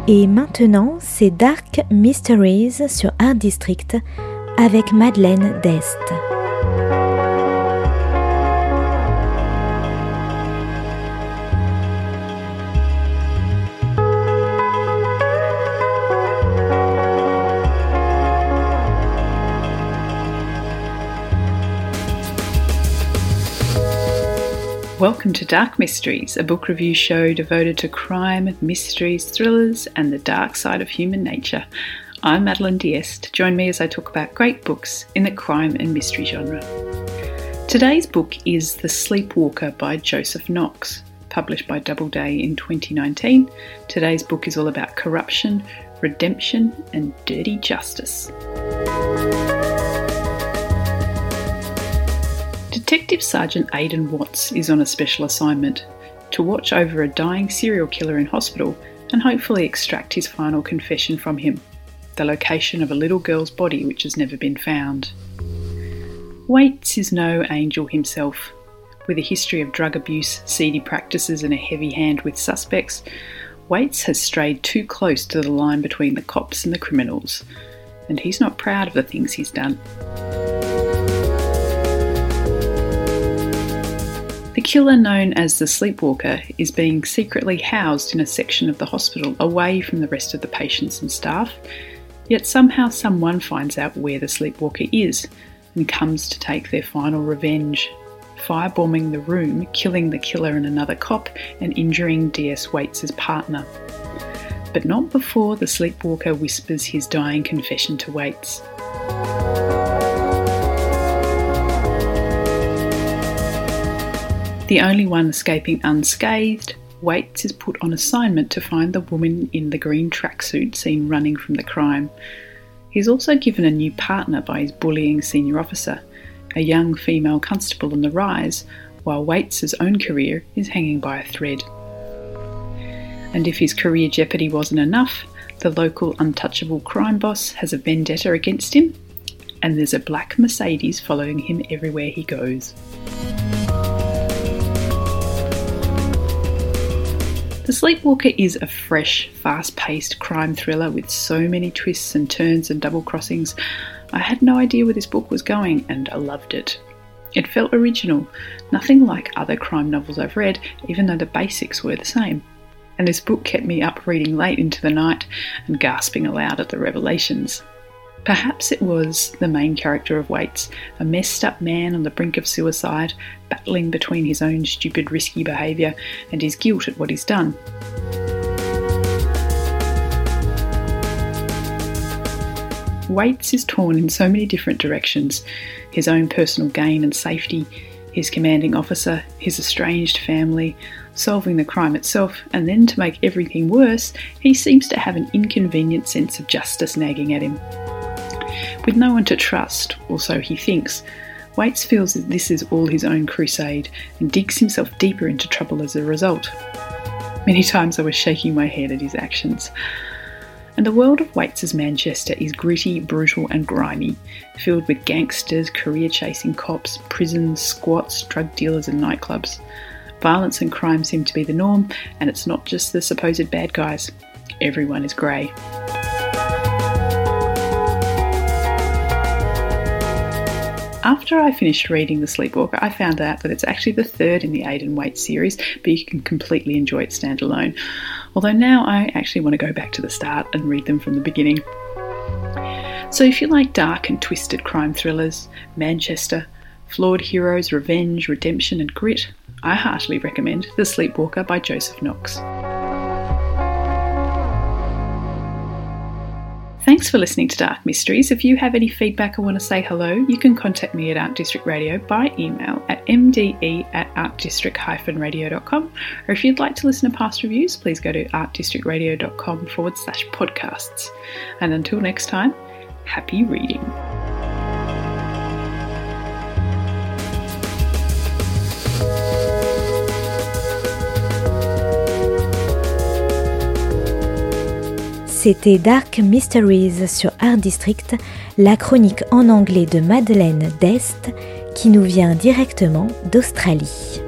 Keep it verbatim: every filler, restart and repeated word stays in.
Et maintenant, c'est Dark Mysteries sur Art District avec Madeleine Dest. Welcome to Dark Mysteries, a book review show devoted to crime, mysteries, thrillers, and the dark side of human nature. I'm Madeleine D'Este. Join me as I talk about great books in the crime and mystery genre. Today's book is The Sleepwalker by Joseph Knox, published by Doubleday in twenty nineteen. Today's book is all about corruption, redemption, and dirty justice. Detective Sergeant Aidan Watts is on a special assignment to watch over a dying serial killer in hospital and hopefully extract his final confession from him, the location of a little girl's body which has never been found. Waits is no angel himself. With a history of drug abuse, seedy practices and a heavy hand with suspects, Waits has strayed too close to the line between the cops and the criminals, and he's not proud of the things he's done. The killer, known as the Sleepwalker, is being secretly housed in a section of the hospital away from the rest of the patients and staff, yet somehow someone finds out where the Sleepwalker is and comes to take their final revenge, firebombing the room, killing the killer and another cop, and injuring D S Waits' partner. But not before the Sleepwalker whispers his dying confession to Waits. The only one escaping unscathed, Waits is put on assignment to find the woman in the green tracksuit seen running from the crime. He's also given a new partner by his bullying senior officer, a young female constable on the rise, while Waits' own career is hanging by a thread. And if his career jeopardy wasn't enough, the local untouchable crime boss has a vendetta against him, and there's a black Mercedes following him everywhere he goes. The Sleepwalker is a fresh, fast-paced crime thriller with so many twists and turns and double crossings. I had no idea where this book was going, and I loved it. It felt original, nothing like other crime novels I've read, even though the basics were the same. And this book kept me up reading late into the night and gasping aloud at the revelations. Perhaps it was the main character of Waits, a messed up man on the brink of suicide, battling between his own stupid, risky behaviour and his guilt at what he's done. Waits is torn in so many different directions: his own personal gain and safety, his commanding officer, his estranged family, solving the crime itself, and then to make everything worse, he seems to have an inconvenient sense of justice nagging at him. With no one to trust, or so he thinks, Waits feels that this is all his own crusade and digs himself deeper into trouble as a result. Many times I was shaking my head at his actions. And the world of Waits' Manchester is gritty, brutal and grimy, filled with gangsters, career-chasing cops, prisons, squats, drug dealers and nightclubs. Violence and crime seem to be the norm, and it's not just the supposed bad guys. Everyone is grey. After I finished reading The Sleepwalker, I found out that it's actually the third in the Aidan Waits series, but you can completely enjoy it standalone. Although now I actually want to go back to the start and read them from the beginning. So if you like dark and twisted crime thrillers, Manchester, flawed heroes, revenge, redemption and grit, I heartily recommend The Sleepwalker by Joseph Knox. Thanks for listening to Dark Mysteries. If you have any feedback or want to say hello, you can contact me at Art District Radio by email at m d e at artdistrict radio dot com. Or if you'd like to listen to past reviews, please go to artdistrictradio.com forward slash podcasts. And until next time, happy reading. C'était Dark Mysteries sur Art District, la chronique en anglais de Madeleine Dest qui nous vient directement d'Australie.